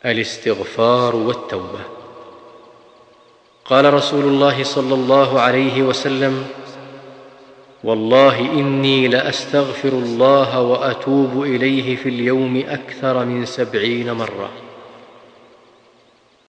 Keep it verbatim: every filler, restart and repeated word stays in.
الاستغفار والتوبة. قال رسول الله صلى الله عليه وسلم: والله إني لأستغفر الله وأتوب إليه في اليوم أكثر من سبعين مرة.